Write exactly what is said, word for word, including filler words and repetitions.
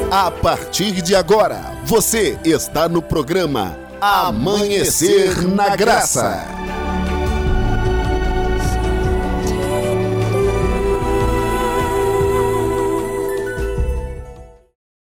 A partir de agora, você está no programa Amanhecer na Graça.